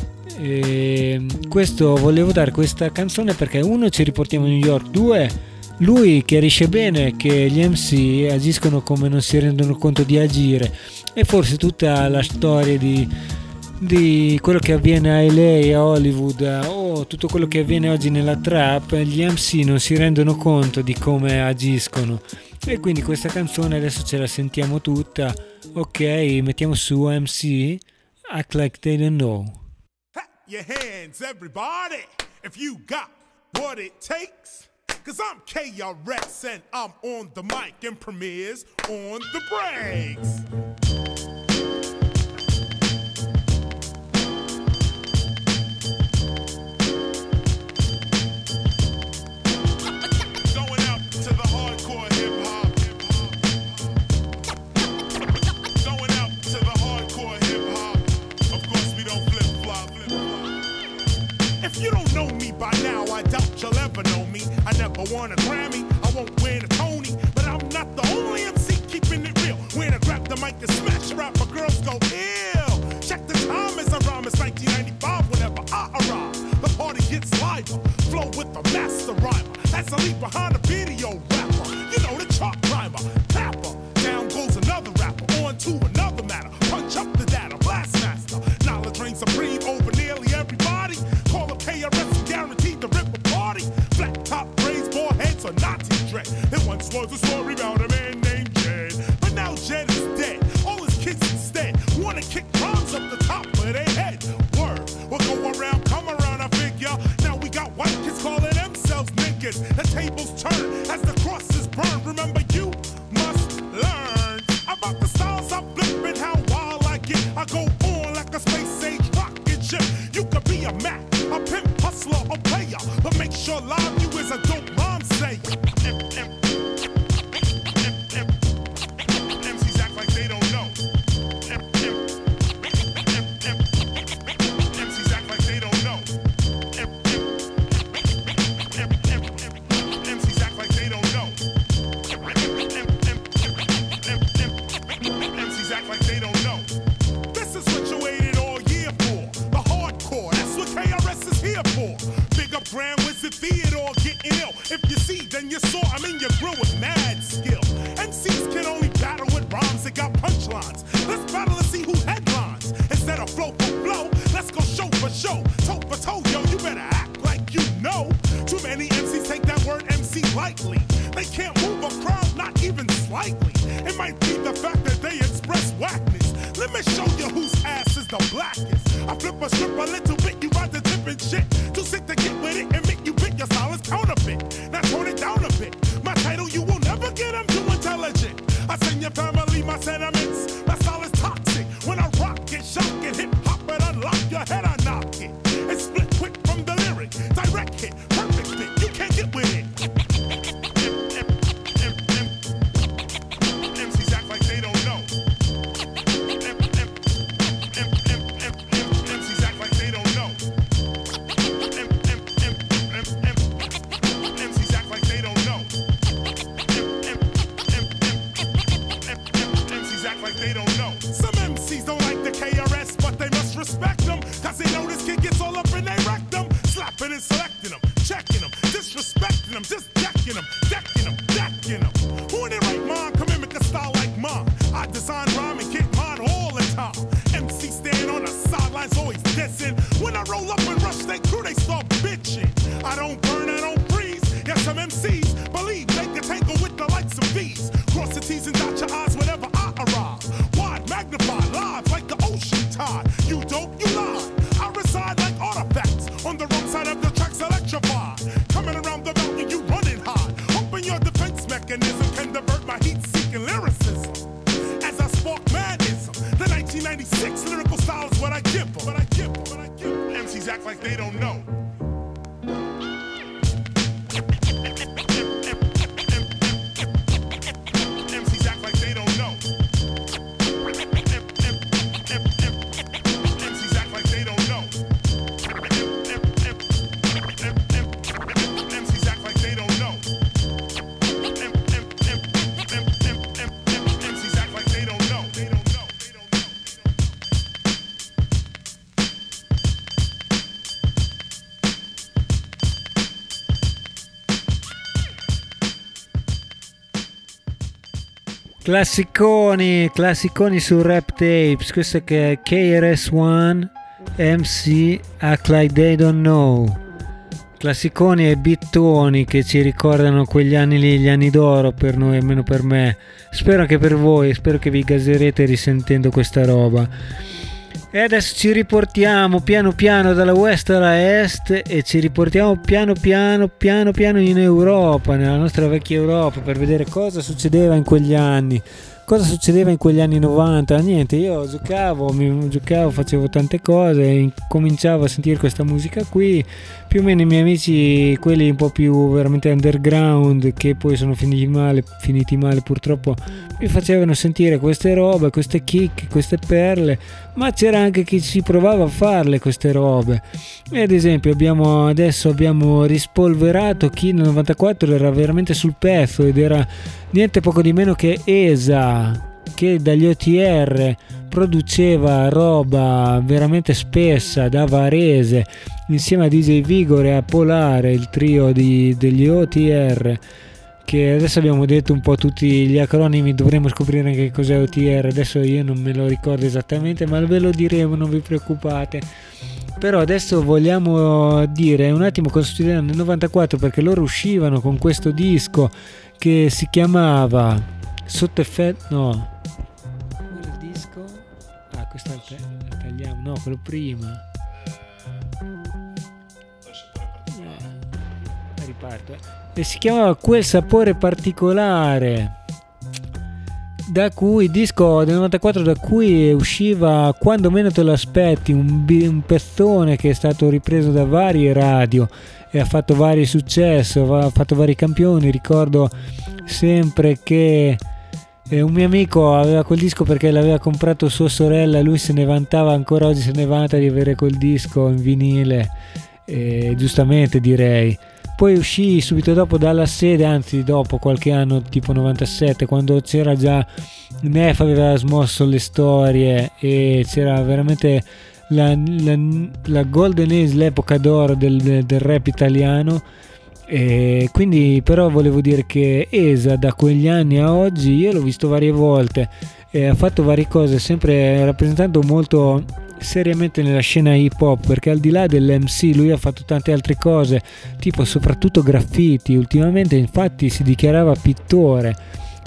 E questo, volevo dare questa canzone perché uno, ci riportiamo a New York, due, lui chiarisce bene che gli M C agiscono come non si rendono conto di agire, e forse tutta la storia di di quello che avviene a L A, a Hollywood, o tutto quello che avviene oggi nella trap, gli M C non si rendono conto di come agiscono, e quindi questa canzone adesso ce la sentiamo tutta. Ok, mettiamo su M C, Act Like They Don't Know. Your hands, everybody, if you got what it takes. Cause I'm K R S and I'm on the mic and premieres on the breaks. Won a Grammy, I won't win a Tony, but I'm not the only M C keeping it real. When I grab the mic and smash rap, might be the fact that they express whackness. Let me show you whose ass is the blackest. I flip a strip a little bit, you ride the different shit. Too sick to get with it and make you bit your silence counterfeit. Now tone it down a bit. My title, you will never get them too intelligent. I send your family my sentiments. My style is toxic. When I rock it, shock it, hip hop it, unlock your head, I knock it. It's split quick from the lyric. Direct hit, perfect fit. You can't get with it. M Cs act like they don't know. M Cs act like they don't know. M Cs act like they don't know. M Cs act like they don't know. Some M Cs don't like the K R S, but they must respect them. Cause they know this kid gets all up in their rectum. Slapping and selecting them, checking them, disrespecting them, just decking them, decking them, decking them. Who in their right mind come in with a style like mine? I design rhyme and get mine all the time. M C stand on the sidelines always dissing. When I roll up and rush they crew, they start bitching. I don't burn, I don't freeze. Yes, some M Cs believe they can tangle with the likes of these. Cross the T's and dot your I's whenever I arrive. Wide, magnify, live like the ocean tide. You dope, you lie. I reside like artifacts on the wrong side of the tracks electrified. Coming around the mountain, you running high. Hoping your defense mechanism can divert my heat-seeking lyricism. As I spark madness, the nineteen ninety-six lyrical style is what I give them. What I give them. What I give them. M Cs act like they don't know. M Cs act like they don't know. M Cs act like they don't know. M Cs act like they don't know. M Cs act like they don't know. They don't know. They don't know. Classiconi, classiconi su Rap Tapes. Questo che è K R S One, M C Act Like They Don't Know. Classiconi e bittoni che ci ricordano quegli anni lì, gli anni d'oro per noi, almeno per me. Spero anche per voi, spero che vi gaserete risentendo questa roba. E adesso ci riportiamo piano piano dalla west alla est e ci riportiamo piano piano piano piano in Europa, nella nostra vecchia Europa, per vedere cosa succedeva in quegli anni. Cosa succedeva in quegli anni novanta? Niente, io giocavo, mi giocavo, facevo tante cose, cominciavo a sentire questa musica qui, più o meno i miei amici, quelli un po' più veramente underground, che poi sono finiti male, finiti male purtroppo, mi facevano sentire queste robe, queste kick, queste perle, ma c'era anche chi ci provava a farle queste robe. E ad esempio abbiamo adesso abbiamo rispolverato chi nel novantaquattro era veramente sul pezzo ed era niente poco di meno che Esa, che dagli O T R produceva roba veramente spessa da Varese insieme a D J Vigor e a Polare, il trio di, degli O T R, che adesso abbiamo detto un po' tutti gli acronimi, dovremo scoprire anche cos'è O T R, adesso io non me lo ricordo esattamente, ma ve lo diremo, non vi preoccupate. Però adesso vogliamo dire un attimo cosa succedeva nel novantaquattro, perché loro uscivano con questo disco che si chiamava Sotto effetto, no, quello il disco, ah questo è il tagliamo, no, quello prima, eh, riparto, eh. E si chiamava Quel sapore particolare, da cui il disco del novantaquattro, da cui usciva Quando meno te lo aspetti, un, un pezzone che è stato ripreso da varie radio e ha fatto vari successi, ha fatto vari campioni. Ricordo sempre che eh, un mio amico aveva quel disco perché l'aveva comprato sua sorella, lui se ne vantava, ancora oggi se ne vanta di avere quel disco in vinile, eh, giustamente direi. Poi uscì subito dopo dalla sede, anzi dopo qualche anno, tipo novantasette, quando c'era già Nef aveva smosso le storie e c'era veramente la, la, la golden age, l'epoca d'oro del, del rap italiano. E quindi però volevo dire che Esa da quegli anni a oggi io l'ho visto varie volte e ha fatto varie cose, sempre rappresentando molto seriamente nella scena hip hop, perché al di là dell'M C lui ha fatto tante altre cose, tipo soprattutto graffiti. Ultimamente infatti si dichiarava pittore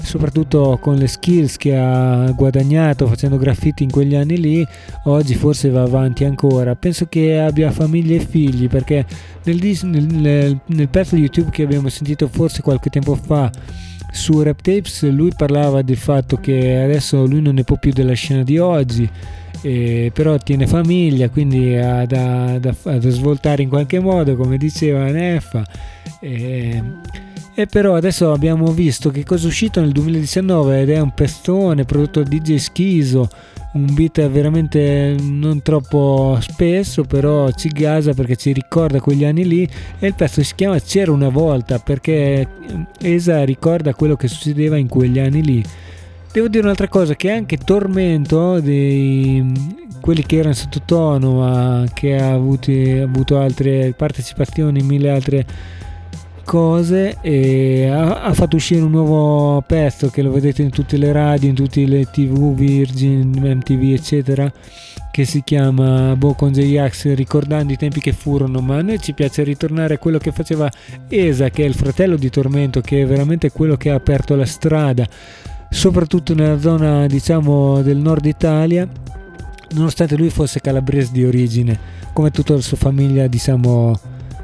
soprattutto con le skills che ha guadagnato facendo graffiti in quegli anni lì, oggi forse va avanti ancora. Penso che abbia famiglia e figli, perché nel, dis- nel, nel pezzo di YouTube che abbiamo sentito forse qualche tempo fa su Rap Tapes, lui parlava del fatto che adesso lui non ne può più della scena di oggi, eh, però tiene famiglia, quindi ha da, da, da svoltare in qualche modo, come diceva Neffa. eh, E però adesso abbiamo visto che cosa è uscito nel duemiladiciannove ed è un pestone prodotto da D J Schizo, un beat veramente non troppo spesso, però ci gasa perché ci ricorda quegli anni lì, e il pezzo si chiama C'era una volta, perché Esa ricorda quello che succedeva in quegli anni lì. Devo dire un'altra cosa, che anche Tormento, dei quelli che erano sottotono ma che ha avuto, ha avuto altre partecipazioni in mille altre cose, e ha, ha fatto uscire un nuovo pezzo che lo vedete in tutte le radio, in tutte le tv, Virgin, M T V eccetera, che si chiama Boh con J-Ax, ricordando i tempi che furono. Ma a noi ci piace ritornare a quello che faceva Esa, che è il fratello di Tormento, che è veramente quello che ha aperto la strada soprattutto nella zona, diciamo, del nord Italia, nonostante lui fosse calabrese di origine, come tutta la sua famiglia, diciamo,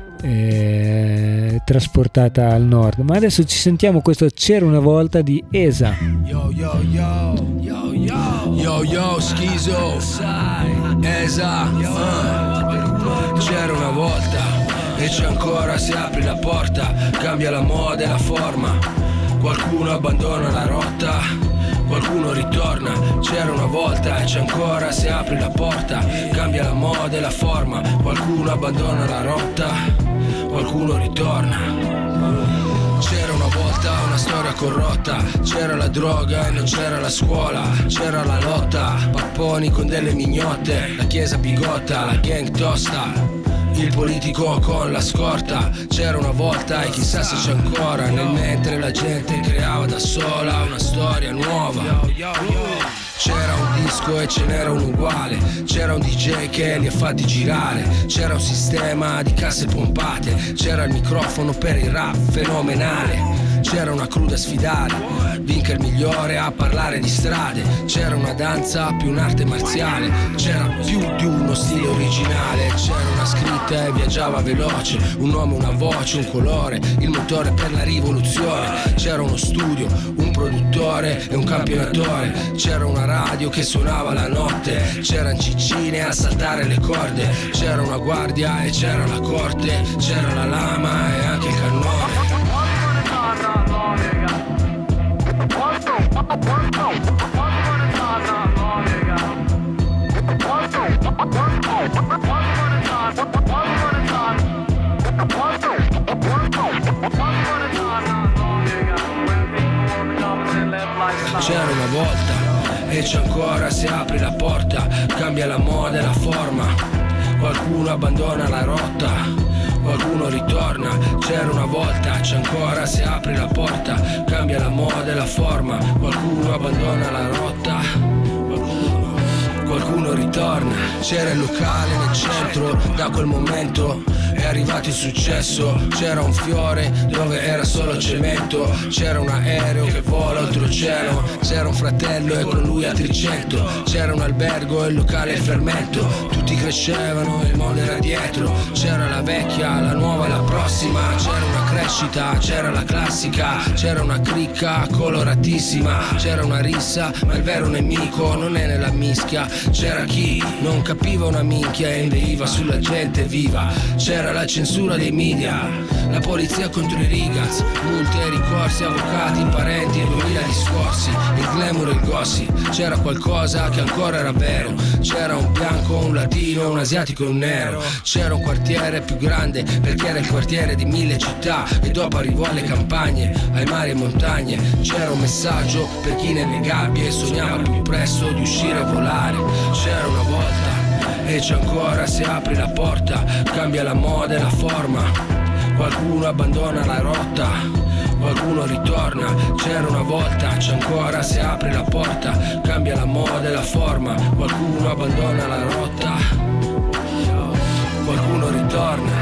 eh, trasportata al nord. Ma adesso ci sentiamo questo C'era una volta di Esa. Yo yo yo yo yo yo yo Schizo Esa, uh. C'era una volta e c'è ancora, se apri la porta cambia la moda e la forma. Qualcuno abbandona la rotta, qualcuno ritorna. C'era una volta e c'è ancora, se apri la porta cambia la moda e la forma. Qualcuno abbandona la rotta, qualcuno ritorna. C'era una volta una storia corrotta, c'era la droga e non c'era la scuola, c'era la lotta, papponi con delle mignotte, la chiesa bigotta, la gang tosta, il politico con la scorta. C'era una volta e chissà se c'è ancora, nel mentre la gente creava da sola una storia nuova. C'era un disco e ce n'era un uguale, c'era un D J che li ha fatti girare, c'era un sistema di casse pompate, c'era il microfono per il rap fenomenale. C'era una cruda sfidare, vinca il migliore a parlare di strade. C'era una danza più un'arte marziale, c'era più di uno stile originale. C'era una scritta e viaggiava veloce, un nome, una voce, un colore, il motore per la rivoluzione. C'era uno studio, un produttore e un campionatore. C'era una radio che suonava la notte, c'erano ciccine a saltare le corde. C'era una guardia e c'era la corte, c'era la lama e anche il cannone. C'era una volta e c'è ancora, se apri la porta cambia la moda e la forma. Qualcuno abbandona la rotta, qualcuno ritorna. C'era una volta, c'è ancora, se apri la porta cambia la moda e la forma. Qualcuno abbandona la rotta, qualcuno, qualcuno ritorna. C'era il locale nel centro, da quel momento è arrivato il successo. C'era un fiore dove era solo cemento, c'era un aereo che vola oltreoceano, c'era un fratello e con lui altri cento, c'era un albergo e il locale il fermento. Tutti crescevano e il mondo era dietro, c'era la vecchia, la nuova e la prossima. C'era una crescita, c'era la classica, c'era una cricca coloratissima, c'era una rissa ma il vero nemico non è nella mischia. C'era chi non capiva una minchia e inveiva sulla gente viva. C'era la censura dei media, la polizia contro i rigaz, multe, ricorsi, avvocati, parenti e duemila discorsi, il glamour e il gossip. C'era qualcosa che ancora era vero, c'era un bianco, un latino, un asiatico e un nero. C'era un quartiere più grande perché era il quartiere di mille città, e dopo arrivò alle campagne, ai mari e montagne. C'era un messaggio per chi nelle gabbie sognava più presto di uscire a volare. C'era una volta e c'è ancora, se apri la porta cambia la moda e la forma. Qualcuno abbandona la rotta, qualcuno ritorna. C'era una volta, c'è ancora, se apri la porta cambia la moda e la forma. Qualcuno abbandona la rotta, qualcuno ritorna.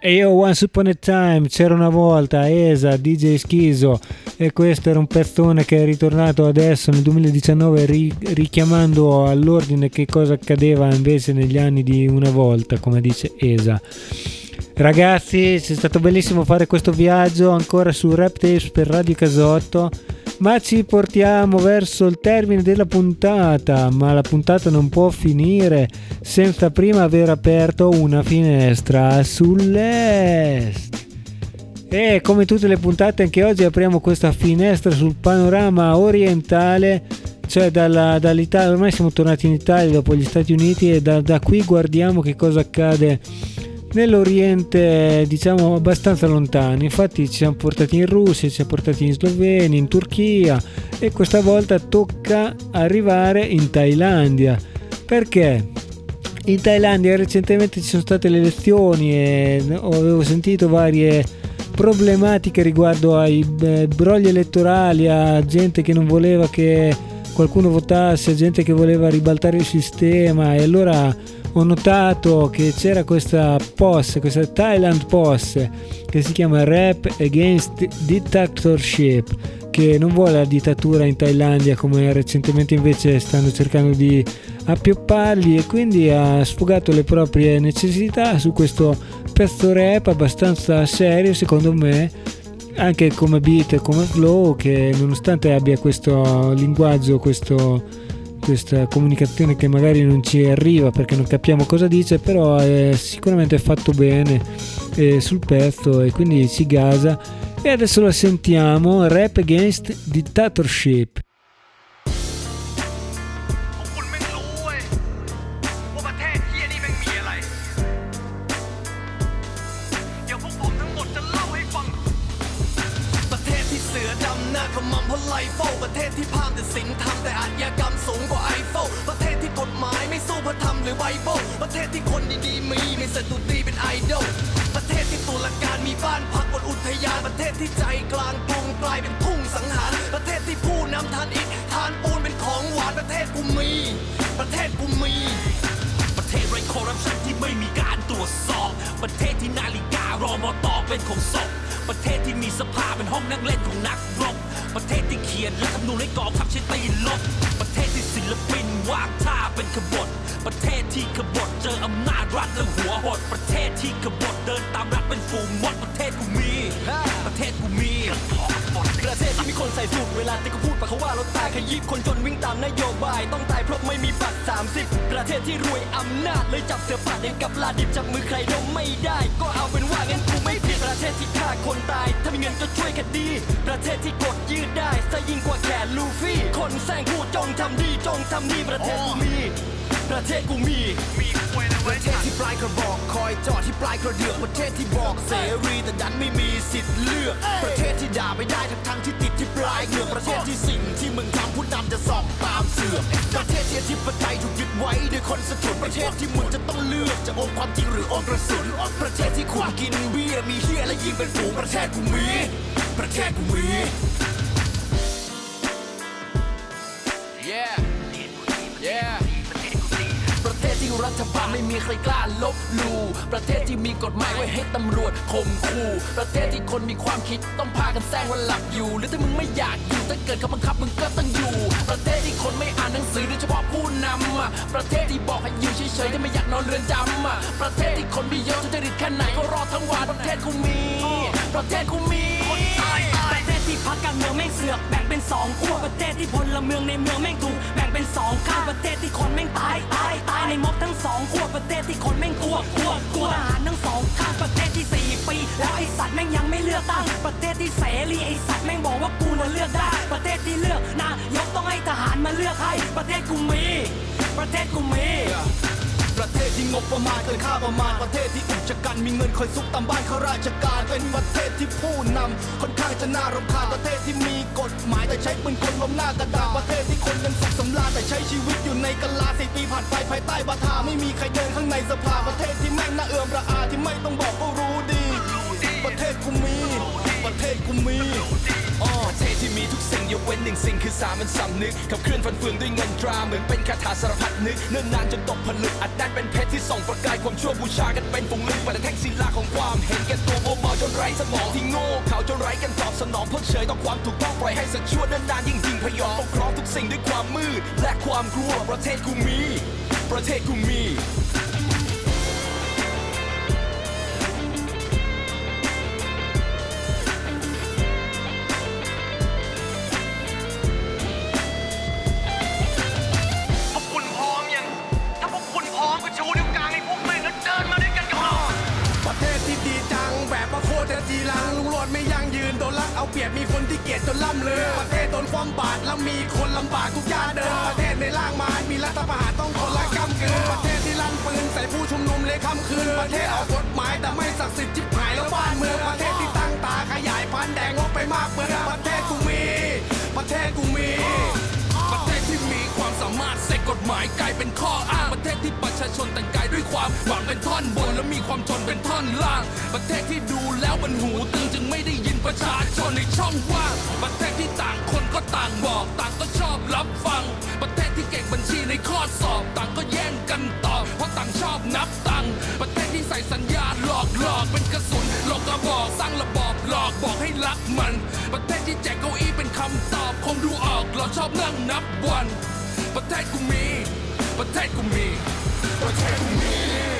E io Once Upon a Time, c'era una volta, Esa, D J Schizo, e questo era un pezzone che è ritornato adesso nel duemiladiciannove ri- richiamando all'ordine che cosa accadeva invece negli anni di una volta, come dice Esa. Ragazzi, è stato bellissimo fare questo viaggio ancora su Rap Tapes per Radio Casotto, ma ci portiamo verso il termine della puntata, ma la puntata non può finire senza prima aver aperto una finestra sull'est. E come tutte le puntate anche oggi apriamo questa finestra sul panorama orientale, cioè dalla, dall'Italia. Ormai siamo tornati in Italia dopo gli Stati Uniti e da, da qui guardiamo che cosa accade nell'Oriente, diciamo abbastanza lontano. Infatti ci siamo portati in Russia, ci siamo portati in Slovenia, in Turchia, e questa volta tocca arrivare in Thailandia. Perché? In Thailandia recentemente ci sono state le elezioni e avevo sentito varie problematiche riguardo ai eh, brogli elettorali, a gente che non voleva che qualcuno votasse, gente che voleva ribaltare il sistema, e allora ho notato che c'era questa P O S, questa Thailand P O S, che si chiama Rap Against Dictatorship, che non vuole la dittatura in Thailandia come recentemente invece stanno cercando di appioppargli, e quindi ha sfogato le proprie necessità su questo pezzo rap abbastanza serio secondo me, anche come beat e come flow, che nonostante abbia questo linguaggio, questo questa comunicazione che magari non ci arriva perché non capiamo cosa dice, però è sicuramente fatto bene eh, sul pezzo, e quindi si gasa. E adesso lo sentiamo, Rap Against Dictatorship. หรือไบเบิลประเทศที่คนดีๆมีมีสตุตีเป็นไอดอลประเทศที่ตุลาการมีบ้านพักบนอุทยานประเทศที่ใจกลางกรุงกลายเป็นทุ่งสังหารประเทศที่ผู้นำทานอิฐทานปูนเป็นของหวานประเทศกูมีประเทศกูมีประเทศไร้คอร์รัปชันที่ไม่มีการตรวจสอบประเทศที่นาฬิการอมตเป็นของศพประเทศที่มีสภาเป็นห้องนั่งเล่นของนักรบประเทศที่เขียนรัฐธรรมนูญให้กองทัพใช้ตีลบประเทศที่ศิลปินวางท่าเป็นขบฏประเทศที่ขบฏเจออำนาจรัฐแล้วหัวหดประเทศที่ขบฏเดินตามรัฐเป็นฝูงมดประเทศกูมีประเทศกูมีประเทศที่มีคนใส่สูทเวลาที่เขาพูดปะเขาว่ารถตายขยี้คนจนวิ่งตามนโยบายต้องตายเพราะไม่มีบัตรสามสิบประเทศที่รวยอำนาจเลยจับเสือป่าเองกับลาดิบจับมือใครดมไม่ได้ก็เอาเป็นว่างั้นกูไม่ผิดประเทศที่ฆ่าคนตายถ้ามีเงินก็ช่วยคดีประเทศที่กดยืดได้ซะยิ่งกว่าแขนลูฟี่คนแซงพูดจงทำดีจงทำดีประเทศกูมีประเทศกูมีประเทศที่ปลายกระบอกคอยจอดที่ปลายกระเดือกประเทศที่บอกเสรีแต่ดันไม่มีสิทธิ์เลือกประเทศที่ด่าไม่ได้ทั้งทั้งที่ติดที่ปลายเหงือกประเทศที่สิ่งที่มึงทำผู้นำจะสอบตามเสือกประเทศที่อธิปไตยถูกยึดไว้ด้วยคนสะทุนประเทศที่มึงจะต้องเลือกจะอมความจริงหรืออมกระสุนประเทศที่คุณกินเบียร์มีเหี้ยและยิงเป็นฝูงประเทศกูมีประเทศกูมี Yeah Yeahประเทศที่รัฐบาลไม่มีใครกล้าลบหลู่ประเทศที่มีกฎหมายไว้ให้ตำรวจข่มขู่ประเทศที่คนมีความคิดต้องพากันแซงว่าหลับอยู่หรือถ้ามึงไม่อยากอยู่ถ้าเกิดเขาบังคับมึงก็ต้องอยู่ประเทศที่คนไม่อ่านหนังสือโดยเฉพาะผู้นำอ่ะประเทศที่บอกให้อยู่เฉยๆถ้าไม่อยากนอนเรือนจำอ่ะประเทศที่คนมีเยอะทุจริตแค่ไหนก็รอทั้งวันประเทศกูมีประเทศกูมีประเทศที่พรรคการเมืองแม่งเสือกแบ่งเป็นสองขั้วประเทศที่พลเมืองในเมืองแม่งถูกแบ่งเป็นสองข้างประเทศที่คนแม่งตายตายตายในม็อบทั้งสองขั้วประเทศที่คนแม่งกลัวกลัวกลัวทหารทั้งสองข้างประเทศที่สี่ปีแล้วไอ้สัตว์แม่งยังไม่เลือกตั้งประเทศที่เสรีไอ้สัตว์แม่งบอกว่ากูน่ะเลือกได้ประเทศที่เลือกนายกต้องให้ทหารมาเลือกให้ประเทศกูมีประเทศกูมีประเทศที่งบประมาณเกินค่าประมาณประเทศที่อุกชะกันมีเงินคอยซุกตามบ้านข้าราชการเป็นประเทศที่ผู้นำค่อนข้างจะน่ารำคาญประเทศที่มีกฎหมายแต่ใช้ปืนกลล้มหน้ากระดาษประเทศที่คนยังสุขสำราญแต่ใช้ชีวิตอยู่ในกะลาสี่ปีผ่านไปภายใต้บาทาไม่มีใครเดินข้างในสภาประเทศที่แม่งน่าเอื่อมระอาที่ไม่ต้องบอกก็รู้ดีประเทศกูมีประเทศกูมีประเทศที่มีทุกสิ่งยกเว้นหนึ่งสิ่งคือสามัญสำนึกขับเคลื่อนฟันเฟืองด้วยเงินตราเหมือนเป็นคาถาสารพัดนึกเนิ่นนานจนตกผลึกอัดแน่นเป็นเพชรที่ส่องประกายความชั่วบูชากันเป็นฝูงลึกแต่แท่งศิลาของความเห็นแก่ตัวโมเมาจนไร้สมองที่โง่เขาจนไร้กันตอบสนองเพิกเฉยต่อความถูกต้องปล่อยให้สักชั่วเนิ่นนานยิ่งยิงพยองปกครองทุกสิ่งด้วยความมืดและความกลัวประเทศกูมีประเทศกูมีเอาเปรียบมีคนที่เกลียดจนล่ำลือประเทศโดนความบาดแล้วมีคนลำบากทุกย่านเดินประเทศในล่างมารมีรัฐประหารต้องคนละกำกือประเทศที่ลั่นปืนใส่ผู้ชุมนุมเลยค่ำคืนประเทศออกกฎหมายแต่ไม่ศักดิ์สิทธิ์จิบหายแล้วบ้านเมืองประเทศที่ตั้งตาขยายพันธุ์แดงงบไปมากเมืองประเทศกูมีประเทศกูมีประเทศที่มีความสามารถเสกกฎหมายกลายเป็นข้ออ้างประเทศที่ประชาชนแต่งกายด้วยความหวังเป็นท่อนบนและมีความจนเป็นท่อนล่างประเทศที่ดูแล้วมันหูตึงจึงไม่ได้ยินประชาชนในช่องว่างประเทศที่ต่างคนก็ต่างบอกต่างก็ชอบรับฟังประเทศที่เก่งบัญชีในข้อสอบต่างก็แย่งกันตอบเพราะต่างชอบนับตังค์ประเทศที่ใส่สัญญาหลอกหลอกเป็นกระสุนหลอกกระบอกสร้างระบอบหลอกบอกให้รักมันประเทศที่แจกเก้าอี้เป็นคำตอบคงดูออกเราชอบนั่งนับวันประเทศกูมีประเทศกูมีประเทศกูมี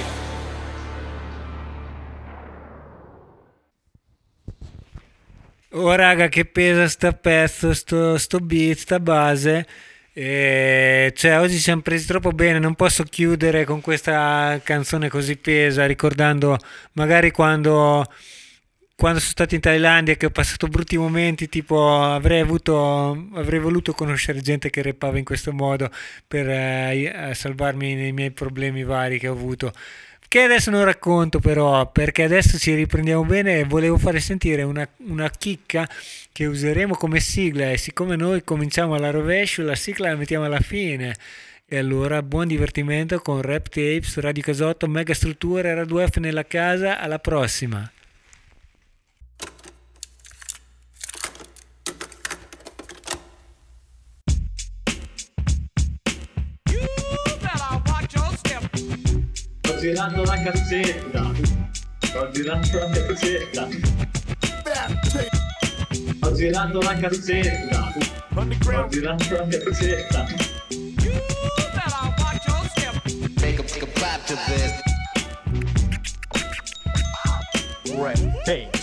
Oh raga, che pesa sta pezzo, sto, sto beat, sta base. E cioè oggi ci siamo presi troppo bene, non posso chiudere con questa canzone così pesa, ricordando magari quando, quando sono stato in Thailandia che ho passato brutti momenti, tipo avrei avuto, avrei voluto conoscere gente che rappava in questo modo per eh, salvarmi nei miei problemi vari che ho avuto. Che adesso non racconto però, perché adesso ci riprendiamo bene e volevo fare sentire una, una chicca che useremo come sigla e siccome noi cominciamo alla rovescio la sigla la mettiamo alla fine e allora buon divertimento con Rap Tapes, Radio Casotto, Mega Strutture, Radio F nella casa, alla prossima! Ho girato la cassetta, ho girato la cassetta, ho girato la cassetta, ho girato la cassetta. Make a, make a clap to this. Right. Hey.